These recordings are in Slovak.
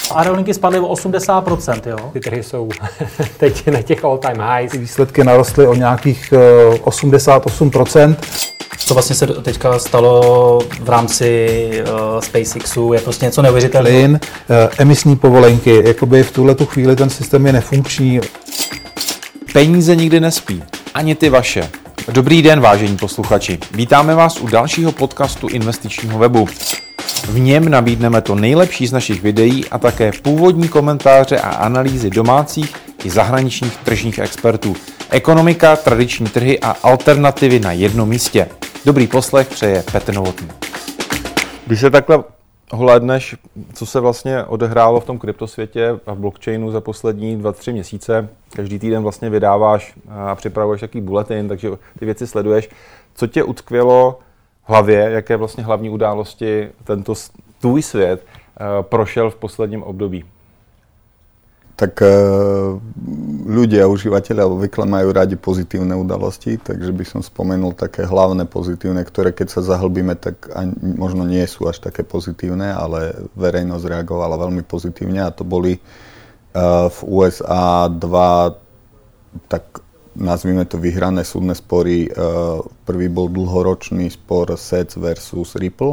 aerolinky spadly o 80%, jo? Ty trhy jsou teď na těch all-time highs. Výsledky narostly o nějakých 88%. Co vlastně se teďka stalo v rámci SpaceXu, je prostě něco neuvěřitelného. Plyn, emisní povolenky, jakoby v tuhletu chvíli ten systém je nefunkční. Peníze nikdy nespí, ani ty vaše. Dobrý den, vážení posluchači. Vítáme vás u dalšího podcastu investičního webu. V něm nabídneme to nejlepší z našich videí a také původní komentáře a analýzy domácích i zahraničních tržních expertů. Ekonomika, tradiční trhy a alternativy na jednom místě. Dobrý poslech přeje Petr Novotný. Když se takhle hlédneš, co se vlastně odehrálo v tom kryptosvětě a v blockchainu za poslední 2-3 měsíce, každý týden vlastně vydáváš a připravuješ takový bulletin, takže ty věci sleduješ. Co tě utkvělo v hlavě, jaké vlastně hlavní události tento tvůj svět prošel v posledním období? Tak ľudia, užívateľia obvykle majú radi pozitívne udalosti, takže by som spomenul také hlavné pozitívne, ktoré keď sa zahlbíme, tak možno nie sú až také pozitívne, ale verejnosť reagovala veľmi pozitívne a to boli v USA dva, tak nazvime to vyhrané súdne spory. Prvý bol dlhoročný spor SEC versus Ripple,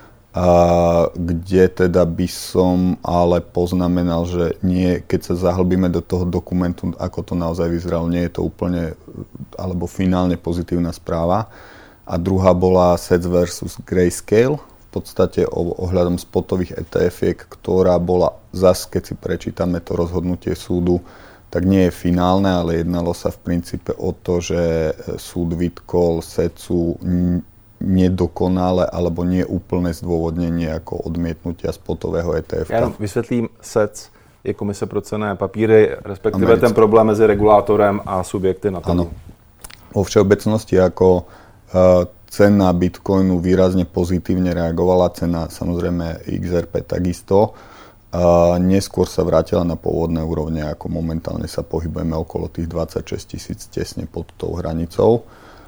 kde teda by som ale poznamenal, že nie, keď sa zahlbíme do toho dokumentu, ako to naozaj vyzeralo, nie je to úplne alebo finálne pozitívna správa. A druhá bola SEC versus Grayscale, v podstate ohľadom spotových ETF-iek, ktorá bola zas, keď si prečítame to rozhodnutie súdu, tak nie je finálne, ale jednalo sa v princípe o to, že súd vytkol SECu nedokonale alebo nie úplné zdôvodnenie ako odmietnutia spotového ETF. Já jenom vysvětlím, SEC je Komise pro cenné papíry, respektive ten problém mezi regulátorem a subjekty na trhu. Áno. Vo všeobecnosti ako cena Bitcoinu výrazne pozitívne reagovala, cena samozrejme XRP takisto. Neskôr sa vrátila na pôvodné úrovne, ako momentálne sa pohybujeme okolo tých 26 000 tesne pod tou hranicou.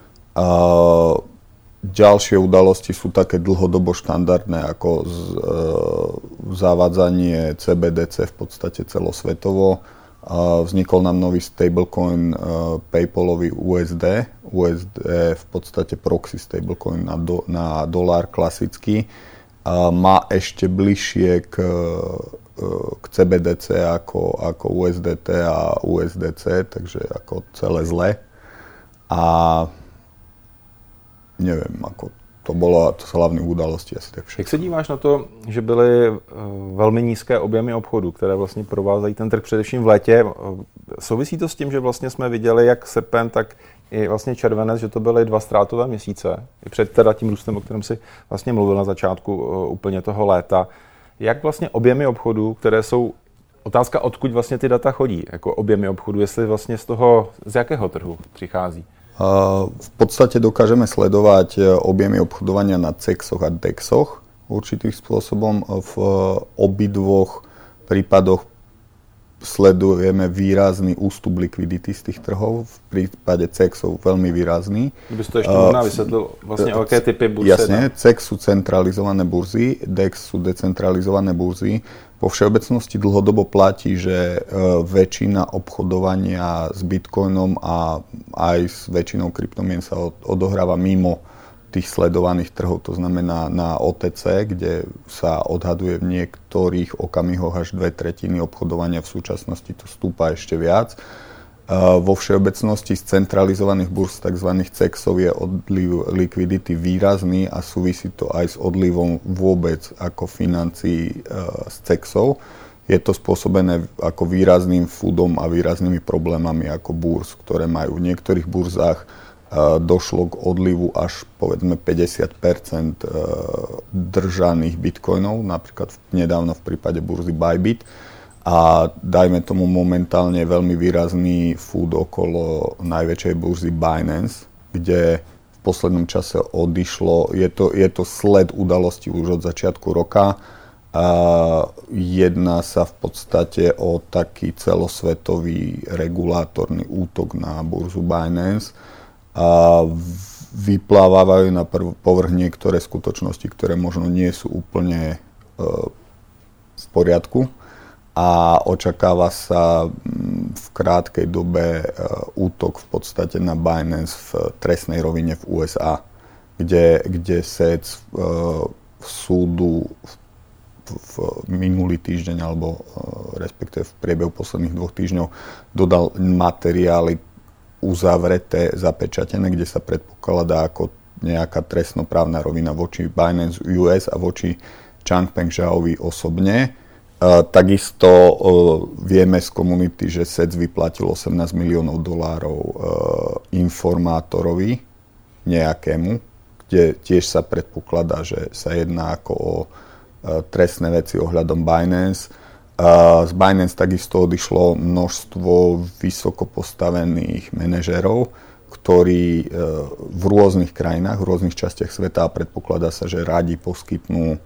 Ďalšie udalosti sú také dlhodobo štandardné ako zavádzanie CBDC v podstate celosvetovo. Vznikol nám nový stablecoin PayPalový USD. USD v podstate proxy stablecoin na dolár klasický. Má ešte bližšie k CBDC ako USDT a USDC, takže ako celé zle. A neviem, ako to sú hlavné udalosti asi tak všechno. Jak se díváš na to, že byly velmi nízké objemy obchodu, které vlastně provázají ten trh především v létě? Souvisí to s tím, že vlastně jsme viděli jak srpen, tak i vlastně červenec, že to byly 2 ztrátové měsíce, i před teda tím růstem, o kterém si vlastně mluvil na začátku úplně toho léta. Jak vlastně objemy obchodu, které jsou, otázka odkud vlastně ty data chodí, jako objemy obchodu, jestli vlastně z jakého trhu přichází? V podstate dokážeme sledovať objemy obchodovania na CEXoch a DEXoch určitých spôsobom. V obidvoch prípadoch sledujeme výrazný ústup likvidity z tých trhov. V prípade CEXov veľmi výrazný. Kdyby to ešte možná vysvetlil, vlastne aké typy burzy? Jasne, CEX sú centralizované burzy, DEX sú decentralizované burzy. Vo všeobecnosti dlhodobo platí, že väčšina obchodovania s Bitcoinom a aj s väčšinou kryptomien sa odohráva mimo tých sledovaných trhov, to znamená na OTC, kde sa odhaduje v niektorých okamihoch až 2/3 obchodovania, v súčasnosti to stúpa ešte viac. Vo všeobecnosti z centralizovaných burz tzv. CEXov je odliv likvidity výrazný a súvisí to aj s odlivom vôbec ako financií z CEXov. Je to spôsobené ako výrazným foodom a výraznými problémami ako burz, ktoré majú v niektorých burzách došlo k odlivu až povedzme 50% držaných bitcoinov, napríklad nedávno v prípade burzy Bybit. A dajme tomu momentálne veľmi výrazný food okolo najväčšej burzy Binance, kde v poslednom čase odišlo, je to sled udalostí už od začiatku roka. Jedná sa v podstate o taký celosvetový regulátorný útok na burzu Binance. Vyplávajú na povrch niektoré skutočnosti, ktoré možno nie sú úplne v poriadku. a očakáva sa v krátkej dobe útok v podstate na Binance v trestnej rovine v USA, kde SEC súdu v minulý týždeň, alebo respektíve v priebehu posledných 2 týždňov dodal materiály uzavreté, zapečatené, kde sa predpokladá ako nejaká trestnoprávna rovina voči Binance US a voči Changpeng Zhaovi osobne. Takisto vieme z komunity, že SEC vyplatil $18 miliónov informátorovi nejakému, kde tiež sa predpokladá, že sa jedná ako o trestné veci ohľadom Binance. Z Binance takisto odišlo množstvo vysoko postavených manažérov, ktorí v rôznych krajinách, v rôznych častiach sveta, a predpokladá sa, že radi poskytnú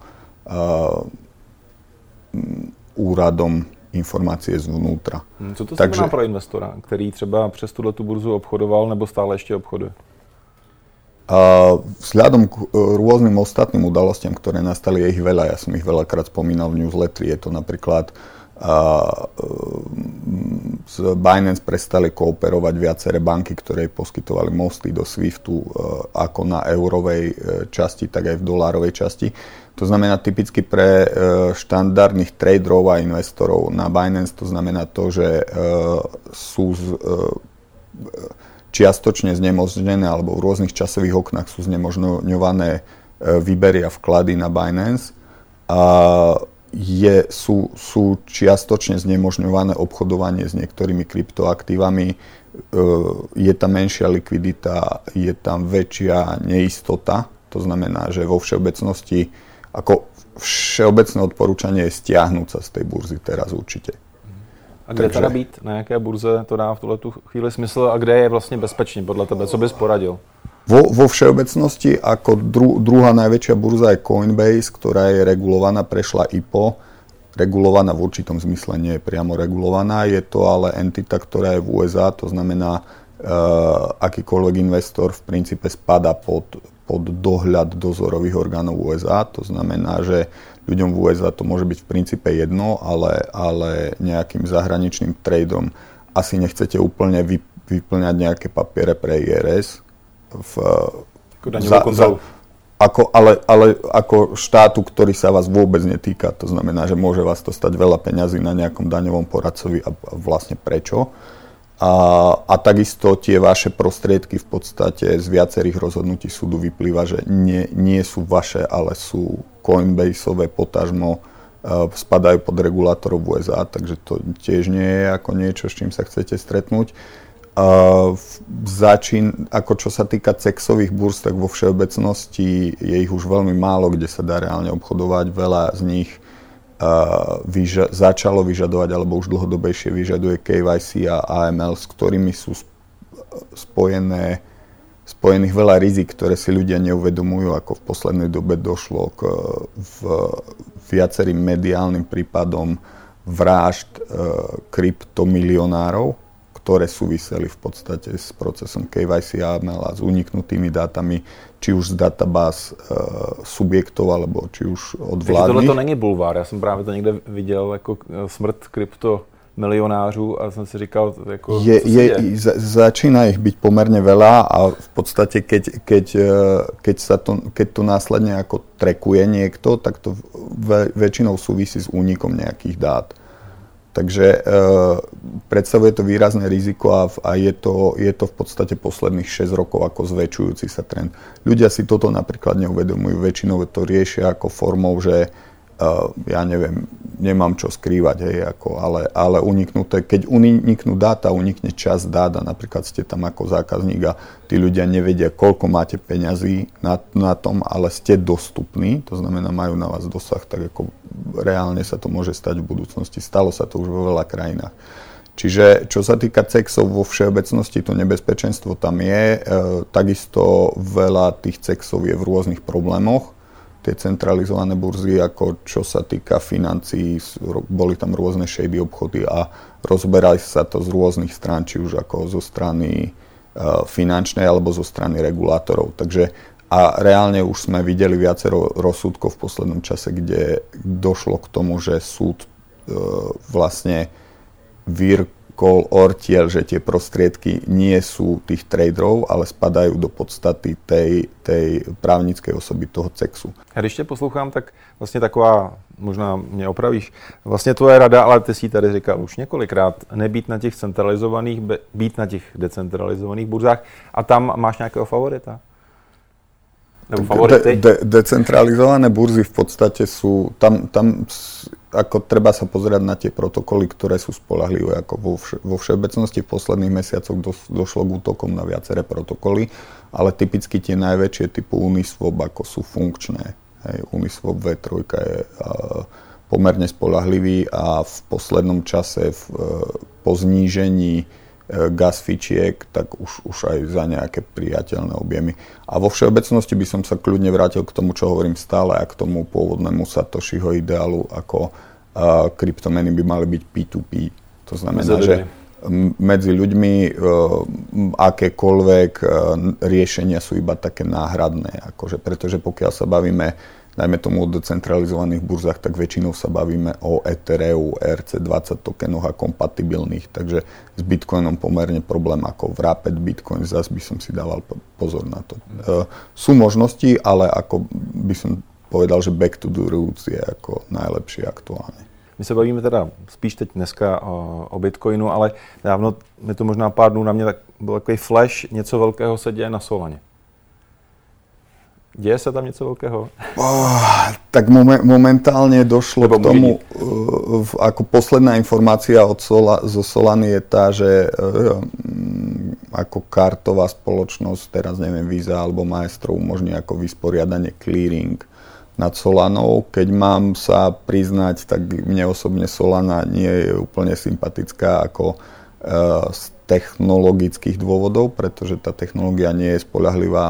úradom informácie zvnútra. Co to znamená pro investora, který třeba přes tuhletu burzu obchodoval nebo stále ještě obchoduje? Vzhľadom k rôznym ostatným udalostiam, ktoré nastali, je ich veľa. Ja som ich veľakrát spomínal v newsletteri. Je to napríklad z Binance prestali kooperovať viaceré banky, ktoré poskytovali mosty do SWIFTu ako na eurovej časti, tak aj v dolárovej časti. To znamená typicky pre štandardných traderov a investorov na Binance, to znamená to, že sú čiastočne znemožnené, alebo v rôznych časových oknách sú znemožňované výbery a vklady na Binance. Sú čiastočne znemožňované obchodovanie s niektorými kryptoaktívami. Je tam menšia likvidita, je tam väčšia neistota. To znamená, že vo všeobecnosti, ako všeobecné odporúčanie je stiahnuť sa z tej burzy teraz určite. A kde teda být? Na jaké burze to dá v tuhletu chvíli smysl a kde je vlastně bezpečně podle tebe? Co bys poradil? Vo všeobecnosti ako druhá najväčšia burza je Coinbase, ktorá je regulovaná, prešla IPO. Regulovaná v určitom zmysle, nie je priamo regulovaná. Je to ale entita, ktorá je v USA, to znamená, akýkoľvek investor v princípe spadá pod dohľad dozorových orgánov USA. To znamená, že ľuďom v USA to môže byť v princípe jedno, ale nejakým zahraničným tradeom asi nechcete úplne vyplňať nejaké papiere pre IRS. Ale ako štátu, ktorý sa vás vôbec netýka, to znamená, že môže vás to stať veľa peňazí na nejakom daňovom poradcovi a vlastne prečo. A takisto tie vaše prostriedky v podstate z viacerých rozhodnutí súdu vyplýva, že nie sú vaše, ale sú Coinbaseové, potažmo spadajú pod regulátorov USA, takže to tiež nie je ako niečo, s čím sa chcete stretnúť. Ako čo sa týka CEXových burz, tak vo všeobecnosti je ich už veľmi málo, kde sa dá reálne obchodovať. Veľa z nich začalo vyžadovať, alebo už dlhodobejšie vyžaduje KYC a AML, s ktorými sú spojených veľa rizik, ktoré si ľudia neuvedomujú, ako v poslednej dobe došlo k viacerým mediálnym prípadom vražd kryptomilionárov, ktoré súviseli v podstate s procesom KYC a AML a s uniknutými dátami, či už z databáz subjektov, alebo či už od vládnych. Tohle to není bulvár, já jsem právě to někde viděl, jako smrt kryptomilionářů a jsem si říkal, jako, začína ich byť pomerne veľa a v podstate, keď to následne ako trackuje niekto, tak to väčšinou súvisí s únikom nejakých dát. Takže predstavuje to výrazné riziko a je to v podstate posledných 6 rokov ako zväčšujúci sa trend. Ľudia si toto napríklad neuvedomujú, väčšinou to riešia ako formou, že ja neviem, nemám čo skrývať, hej, ale keď uniknú dáta, unikne časť dát a napríklad ste tam ako zákazník a tí ľudia nevedia, koľko máte peňazí na tom, ale ste dostupní, to znamená, majú na vás dosah, tak ako reálne sa to môže stať v budúcnosti. Stalo sa to už vo veľa krajinách. Čiže čo sa týka CEXov vo všeobecnosti, to nebezpečenstvo tam je. Takisto veľa tých CEXov je v rôznych problémoch. Tie centralizované burzy, ako čo sa týka financií, boli tam rôzne shady obchody a rozberali sa to z rôznych strán, či už ako zo strany finančnej alebo zo strany regulátorov. Takže a reálne už sme videli viacero rozsudkov v poslednom čase, kde došlo k tomu, že súd vlastne vyrkol ortiel, že tie prostriedky nie sú tých traderov, ale spadajú do podstaty tej právnickej osoby toho CEXu. A když tě poslouchám, tak vlastně taková, možná mě opravíš, vlastně tvoje rada, ale ty si tady říkal už několikrát, nebýt na těch centralizovaných, být na těch decentralizovaných burzách a tam máš nějakého favorita? Nebo favority? Decentralizované burzy v podstate sú, tam ako treba sa pozerať na tie protokoly, ktoré sú spoľahlivé. Ako vo všeobecnosti v posledných mesiacoch došlo k útokom na viaceré protokoly, ale typicky tie najväčšie typu Uniswap ako sú funkčné. Hej, Uniswap V3 je pomerne spoľahlivý a v poslednom čase po znížení gas fičiek, tak už aj za nejaké priateľné objemy. A vo všeobecnosti by som sa kľudne vrátil k tomu, čo hovorím stále, a k tomu pôvodnému Satoshiho ideálu, ako kryptomeny by mali byť P2P. To znamená, že medzi ľuďmi akékoľvek riešenia sú iba také náhradné. Pretože pokiaľ sa bavíme najmä tomu o decentralizovaných burzách, tak väčšinou sa bavíme o Ethereu, ERC20 tokenoch a kompatibilných, takže s Bitcoinom pomerne problém ako v Rapid Bitcoin, zase by som si dával pozor na to. Sú možnosti, ale ako by som povedal, že back to the roots je ako najlepšie aktuálne. My se bavíme teda spíš teď dneska o Bitcoinu, ale dávno, je to možná pár dnů na mě, tak byl takový flash, něco velkého se děje na Solaně. Děje sa tam niečo veľkého? Tak momentálne došlo k tomu, ako posledná informácia zo Solany je tá, že ako kartová spoločnosť, teraz neviem, Visa alebo Maestro umožní ako vysporiadanie clearing nad Solanou. Keď mám sa priznať, tak mne osobne Solana nie je úplne sympatická ako z technologických dôvodov, pretože tá technológia nie je spoľahlivá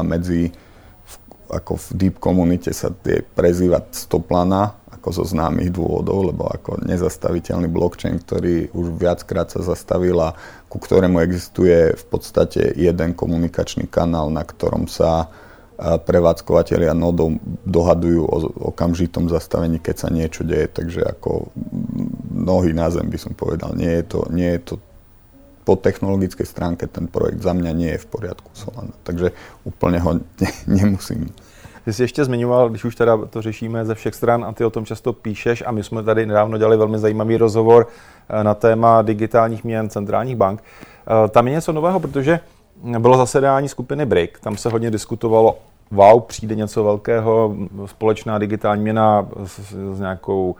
ako v deep komunite sa tie prezývať stoplana, ako zo známych dôvodov, lebo ako nezastaviteľný blockchain, ktorý už viackrát sa zastavil a ku ktorému existuje v podstate jeden komunikačný kanál, na ktorom sa prevádzkovateľia nodov dohadujú o okamžitom zastavení, keď sa niečo deje. Takže ako nohy na zem by som povedal, nie je to po technologickej stránke ten projekt za mňa nie je v poriadku Solana, takže úplne ho nemusím. Ty jsi ještě zmiňoval, když už teda to řešíme ze všech stran a ty o tom často píšeš a my jsme tady nedávno dělali velmi zajímavý rozhovor na téma digitálních měn centrálních bank. Tam je něco nového, protože bylo zasedání skupiny BRIC, tam se hodně diskutovalo, přijde něco velkého, společná digitální měna s nějakou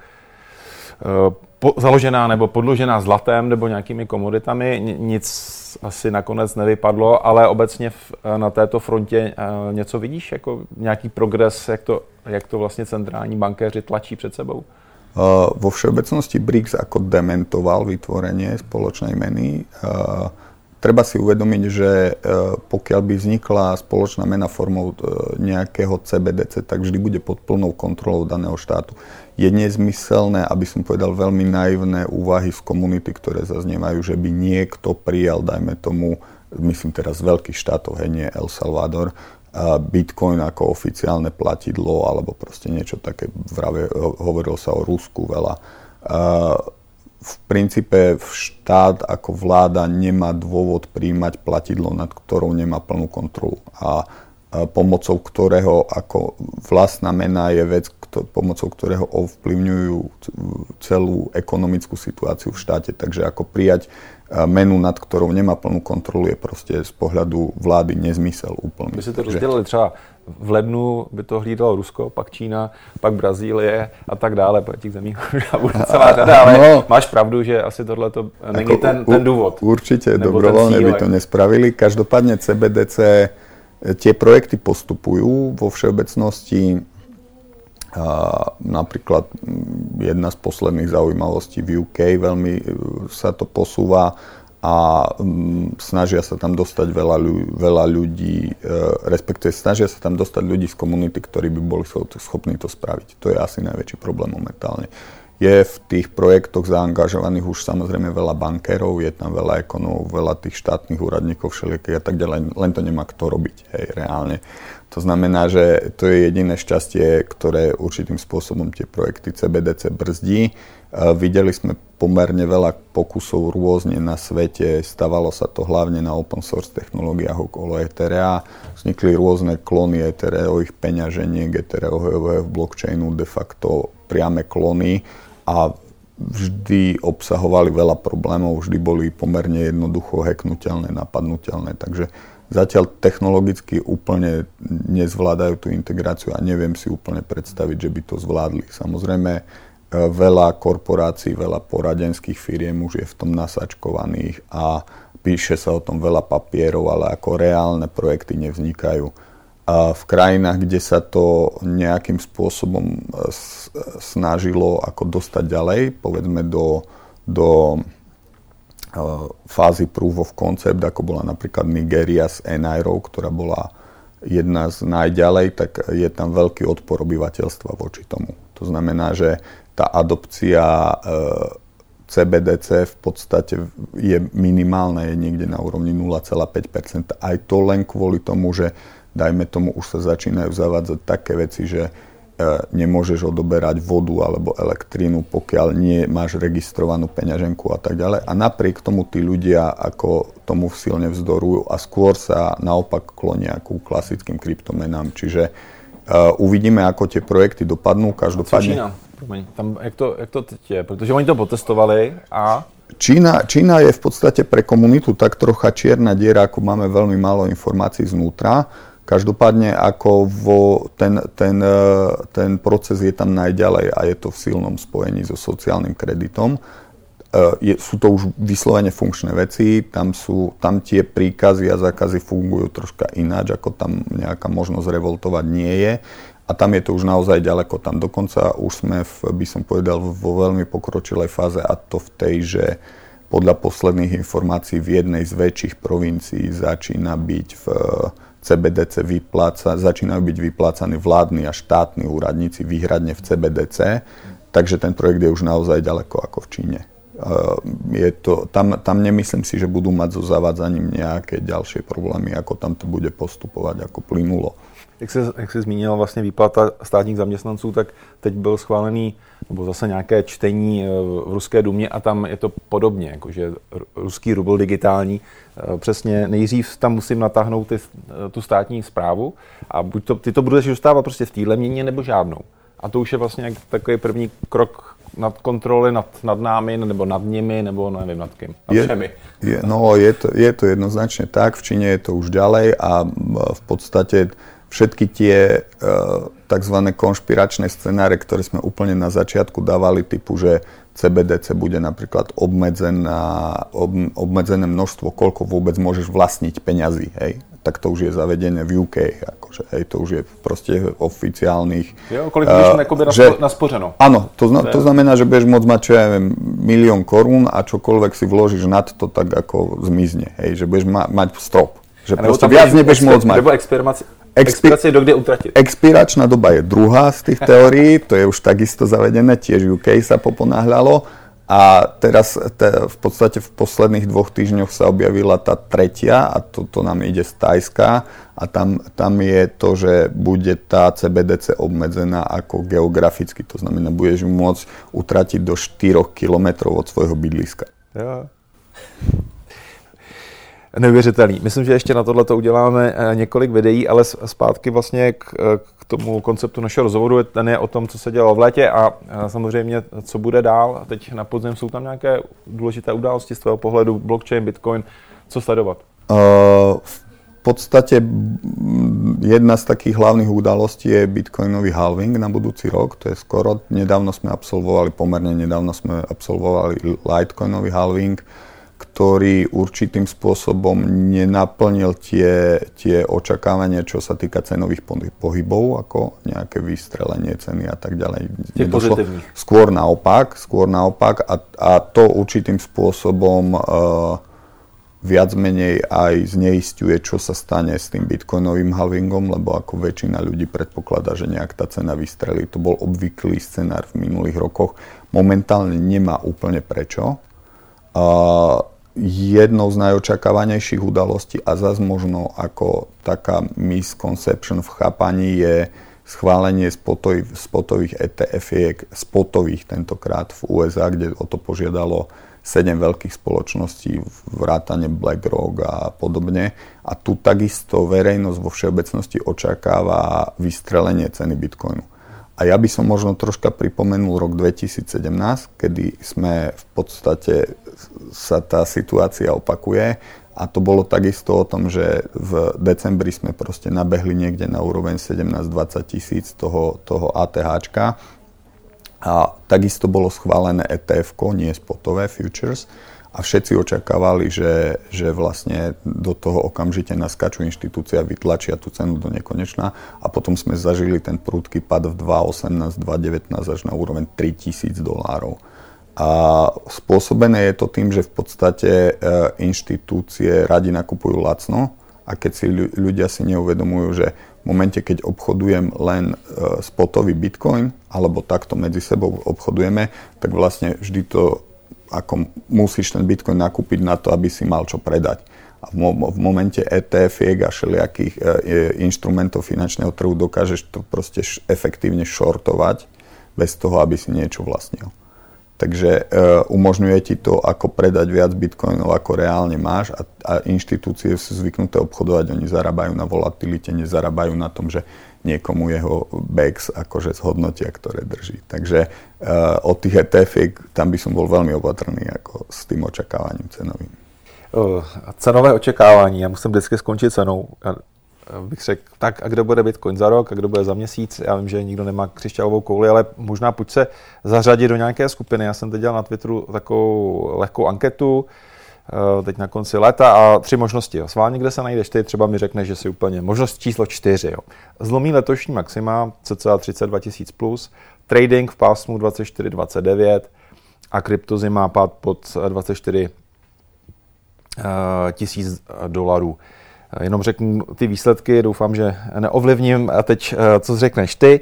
založená nebo podložená zlatem nebo nějakými komoditami, nic asi nakonec nevypadlo, ale obecně na této frontě něco vidíš, jako nějaký progres, jak to vlastně centrální bankéři tlačí před sebou? Vo všeobecnosti BRICS ako dementoval vytvorenie spoločnej meny. Treba si uvedomiť, že pokiaľ by vznikla spoločná mena formou nejakého CBDC, tak vždy bude pod plnou kontrolou daného štátu. Je nezmyselné, aby som povedal veľmi naivné úvahy z komunity, ktoré zaznievajú, že by niekto prijal, dajme tomu, myslím teraz z veľkých štátov, nie El Salvador, Bitcoin ako oficiálne platidlo, alebo proste niečo také, hovorilo sa o Rusku veľa. V princípe štát ako vláda nemá dôvod prijímať platidlo, nad ktorou nemá plnú kontrolu. A pomocou ktorého ako vlastná mena je vec, pomocou ktorého ovplyvňujú celú ekonomickú situáciu v štáte. Takže ako prijať menu, nad ktorou nemá plnú kontrolu, je proste z pohľadu vlády nezmysel úplný. By si to rozdělili třeba v lednu by to hlídalo Rusko, pak Čína, pak Brazílie a tak dále, po těch zemích bude celá řada, ale no, máš pravdu, že asi tohle to není ten důvod. Určite, dobrovoľne by to nespravili. Každopádne CBDC, tie projekty postupujú vo všeobecnosti. Napríklad jedna z posledných zaujímavostí v UK, veľmi sa to posúva a snažia sa tam dostať veľa ľudí, respektíve snažia sa tam dostať ľudí z komunity, ktorí by boli schopní to spraviť. To je asi najväčší problém momentálne. Je v tých projektoch zaangažovaných už samozrejme veľa bankérov, je tam veľa ekonomov, veľa tých štátnych úradníkov všelijakých a tak ďalej, len to nemá kto robiť, hej, reálne. To znamená, že to je jediné šťastie, ktoré určitým spôsobom tie projekty CBDC brzdí. Videli sme pomerne veľa pokusov rôzne na svete, stavalo sa to hlavne na open source technológiách okolo Etherea, vznikli rôzne klony Ethereových peňaženiek, Ethereového blockchainu, de facto priame klony a vždy obsahovali veľa problémov, vždy boli pomerne jednoducho hacknutelné, napadnutelné, takže zatiaľ technologicky úplne nezvládajú tú integráciu a neviem si úplne predstaviť, že by to zvládli. Samozrejme, veľa korporácií, veľa poradenských firiem už je v tom nasačkovaných a píše sa o tom veľa papierov, ale ako reálne projekty nevznikajú. A v krajinách, kde sa to nejakým spôsobom snažilo ako dostať ďalej, povedzme do fázy proof of concept, ako bola napríklad Nigéria s Enairou, ktorá bola jedna z najďalej, tak je tam veľký odpor obyvateľstva voči tomu. To znamená, že tá adopcia CBDC v podstate je minimálna, je niekde na úrovni 0,5%. Aj to len kvôli tomu, že dajme tomu, už sa začínajú zavádzať také veci, že nemôžeš odoberať vodu alebo elektrínu, pokiaľ nie máš registrovanú peňaženku a tak ďalej. A napriek tomu tí ľudia ako tomu silne vzdorujú a skôr sa naopak klonia ku klasickým kryptomenám. Čiže uvidíme, ako tie projekty dopadnú. Každopádne... Jak to teď je? Protože oni to potestovali a... Čína je v podstate pre komunitu tak trocha čierna diera, ako máme veľmi málo informácií znútra. Každopádne ako ten proces je tam najďalej a je to v silnom spojení so sociálnym kreditom. Sú to už vyslovene funkčné veci, tam tie príkazy a zákazy fungujú troška ináč, ako tam nejaká možnosť revoltovať nie je. A tam je to už naozaj ďaleko. Tam dokonca už sme, by som povedal, vo veľmi pokročilej fáze a to v tej, že podľa posledných informácií v jednej z väčších provincií začínajú byť vyplácaní vládni a štátni úradníci výhradne v CBDC, takže ten projekt je už naozaj ďaleko ako v Číne. Tam nemyslím si, že budú mať so zavádzaním nejaké ďalšie problémy, ako tam to bude postupovať, ako plynulo. Jak jsi zmínil vlastně výplata státních zaměstnanců, tak teď byl schválený, nebo zase nějaké čtení v Ruské dumě a tam je to podobně, jakože ruský rubl digitální. Přesně nejdřív tam musím natáhnout tu státní správu a buď ty to budeš dostávat prostě v téhle měně nebo žádnou. A to už je vlastně takový první krok nad kontroly nad námi, nebo nad nimi, nebo nevím nad kým, nad všemi. Je to jednoznačne tak, v Číne je to už ďalej a v podstate všetky tie tzv. Konšpiračné scenáre, ktoré sme úplne na začiatku dávali, typu, že CBDC bude napríklad obmedzené množstvo, koľko vôbec môžeš vlastniť peňazí, hej? Tak to už je zavedené v UK, akože, hej, to už je proste oficiálnych... Jo, koľko budeš naspořeno. Áno, to znamená, že budeš môcť mať, čo ja viem, 1 000 000 korún a čokoľvek si vložíš nad to, tak ako zmizne, hej, že budeš mať strop. Že proste viac nebudeš môcť mať. Nebo expirace dokde utratit. Expiračná doba je druhá z tých teórií, to je už takisto zavedené, tiež UK sa poponáhľalo. A teraz v podstate v posledných 2 týždňoch sa objavila tá tretia a to nám ide z Thajska a tam je to, že bude tá CBDC obmedzená ako geograficky, to znamená, budeš ju môcť utratiť do 4 kilometrov od svojho bydliska. Jo. Neuvěřitelný. Myslím, že ještě na tohleto uděláme několik videí, ale zpátky vlastně k tomu konceptu našeho rozhovoru. Ten je o tom, co se dělalo v létě a samozřejmě, co bude dál. Teď na podzim jsou tam nějaké důležité události z tvého pohledu, blockchain, bitcoin, co sledovat? V podstate jedna z takých hlavných udalostí je bitcoinový halving na budúci rok. To je skoro. Pomerne nedávno sme absolvovali litecoinový halving, ktorý určitým spôsobom nenaplnil tie očakávania, čo sa týka cenových pohybov, ako nejaké vystrelenie ceny a tak ďalej. Skôr naopak a to určitým spôsobom viac menej aj zneisťuje, čo sa stane s tým bitcoinovým halvingom, lebo ako väčšina ľudí predpokladá, že nejak tá cena vystrelí. To bol obvyklý scenár v minulých rokoch. momentálne nemá úplne prečo. Jednou z najočakávanejších udalostí a zase možno ako taká misconception v chápaní je schválenie spotových ETF-iek, spotových tentokrát v USA, kde o to požiadalo 7 veľkých spoločností, vrátane BlackRock a podobne. A tu takisto verejnosť vo všeobecnosti očakáva vystrelenie ceny Bitcoinu. A ja by som možno troška pripomenul rok 2017, kedy sme v podstate sa tá situácia opakuje. A to bolo takisto o tom, že v decembri sme proste nabehli niekde na úroveň 17-20 tisíc toho ATHčka. A takisto bolo schválené ETF-ko, nie spotové futures. A všetci očakávali, že vlastne do toho okamžite naskačú inštitúcia, vytlačia tú cenu do nekonečna. A potom sme zažili ten prudký pad v 2018, 2019 až na úroveň $3,000. A spôsobené je to tým, že v podstate inštitúcie radi nakupujú lacno a keď si ľudia si neuvedomujú, že v momente, keď obchodujem len spotový Bitcoin alebo takto medzi sebou obchodujeme, tak vlastne vždy to ako musíš ten Bitcoin nakúpiť na to, aby si mal čo predať. A v momente ETF-iek a všelijakých inštrumentov finančného trhu dokážeš to proste efektívne shortovať bez toho, aby si niečo vlastnil. Takže umožňuje ti to, ako predať viac bitcoinov, ako reálne máš a inštitúcie sú zvyknuté obchodovať, oni zarábajú na volatilite, nezarábajú na tom, že niekomu jeho BEX akože zhodnotia, ktoré drží. Takže od tých ETF tam by som bol veľmi opatrný ako s tým očakávaním cenovým. Cenové očekávání, já musím vždycky skončit cenou. Bych řekl, tak a kdo bude Bitcoin za rok a kdo bude za měsíc, já vím, že nikdo nemá křišťálovou kouli, ale možná pojď se zařadit do nějaké skupiny. Já jsem teď dělal na Twitteru takovou lehkou anketu, teď na konci léta a 3 možnosti. Sválně, kde se najdeš ty, třeba mi řekneš, že si úplně možnost číslo 4. Jo. Zlomí letošní maxima, cca 32 000 plus, trading v pásmu 24-29 a kryptozy má pád pod 24 $000. Jenom řeknu ty výsledky, doufám, že neovlivním. A teď, co řekneš ty?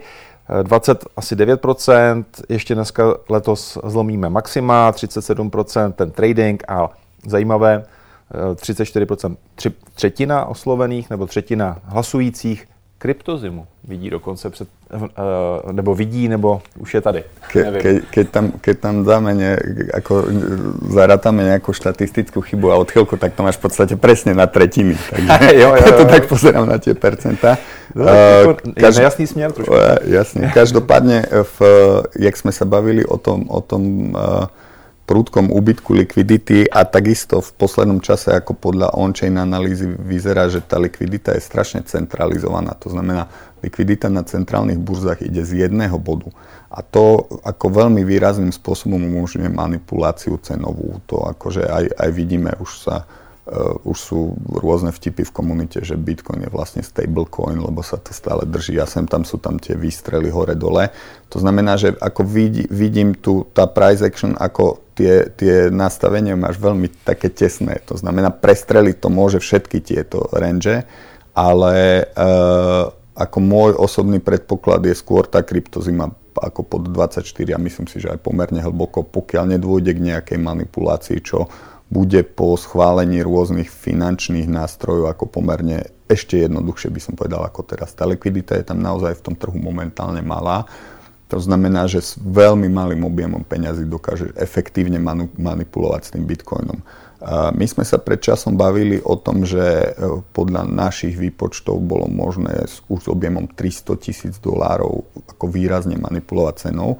29%, ještě dneska letos zlomíme maxima, 37% ten trading a zajímavé, 34%, třetina oslovených nebo třetina hlasujících kryptozimu vidí dokonce nebo vidí, nebo už je tady. Keď tam dáme zarátame nejakú štatistickú chybu a odchylku, tak to máš v podstate presne na tretiny. Takže jo. to tak pozerám na tie percentá. Je nejasný směr trošku. Jasne. Každopádne, jak sme sa bavili o tom prudkom úbytku likvidity a takisto v poslednom čase, ako podľa on-chain analýzy vyzerá, že tá likvidita je strašne centralizovaná. To znamená, likvidita na centrálnych burzách ide z jedného bodu. A to ako veľmi výrazným spôsobom umožňuje manipuláciu cenovú. To akože aj vidíme, už sú rôzne vtipy v komunite, že Bitcoin je vlastne stablecoin, lebo sa to stále drží a tam sú tam tie výstrely hore-dole. To znamená, že ako vidím tu tá price action, ako tie nastavenia máš veľmi také tesné. To znamená, prestreliť to môže všetky tieto range, ale ako môj osobný predpoklad je skôr tá kryptozima ako pod 24 a myslím si, že aj pomerne hlboko, pokiaľ nedôjde k nejakej manipulácii, čo bude po schválení rôznych finančných nástrojov ako pomerne ešte jednoduchšie by som povedal ako teraz. Tá likvidita je tam naozaj v tom trhu momentálne malá. To znamená, že s veľmi malým objemom peňazí dokáže efektívne manipulovať s tým Bitcoinom. My sme sa pred časom bavili o tom, že podľa našich výpočtov bolo možné už s objemom $300,000 ako výrazne manipulovať cenou.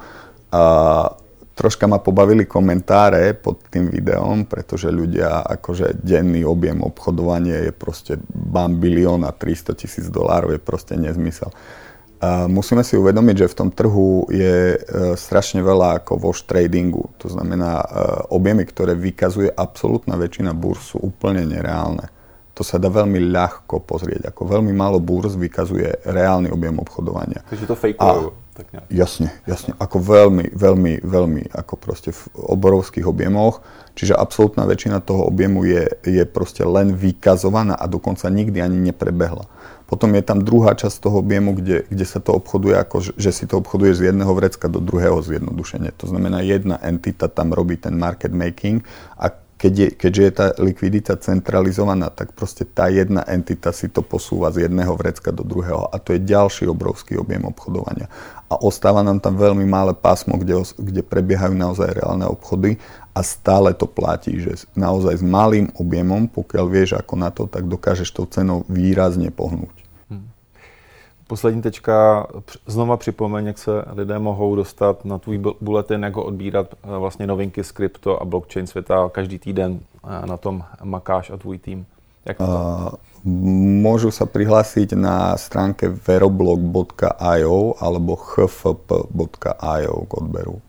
Troška ma pobavili komentáre pod tým videom, pretože ľudia, akože denný objem obchodovania je proste $1 000 000 a $300,000 je proste nezmysel. Musíme si uvedomiť, že v tom trhu je strašne veľa ako wash tradingu. To znamená, objemy, ktoré vykazuje absolútna väčšina burz, sú úplne nereálne. To sa dá veľmi ľahko pozrieť. Ako veľmi málo burz vykazuje reálny objem obchodovania. Takže to fejkujú. Jasne. Ako veľmi, ako proste v obrovských objemoch. Čiže absolútna väčšina toho objemu je proste len vykazovaná a dokonca nikdy ani neprebehla. Potom je tam druhá časť toho objemu, kde sa to obchoduje ako, že si to obchoduješ z jedného vrecka do druhého zjednodušene. To znamená, jedna entita tam robí ten market making a keďže je tá likvidita centralizovaná, tak proste tá jedna entita si to posúva z jedného vrecka do druhého a to je ďalší obrovský objem obchodovania. A ostáva nám tam veľmi malé pásmo, kde prebiehajú naozaj reálne obchody a stále to platí, že naozaj s malým objemom, pokiaľ vieš ako na to, tak dokážeš tou cenou výrazne pohnúť. Poslední tečka, znova připomeň, jak se lidé mohou dostat na tvůj bulletin, jak ho odbírat vlastně novinky z krypto a blockchain světa. Každý týden na tom makáš a tvůj tým. Jak to? Môžu sa prihlásiť na stránke veroblog.io alebo hfp.io k odberu.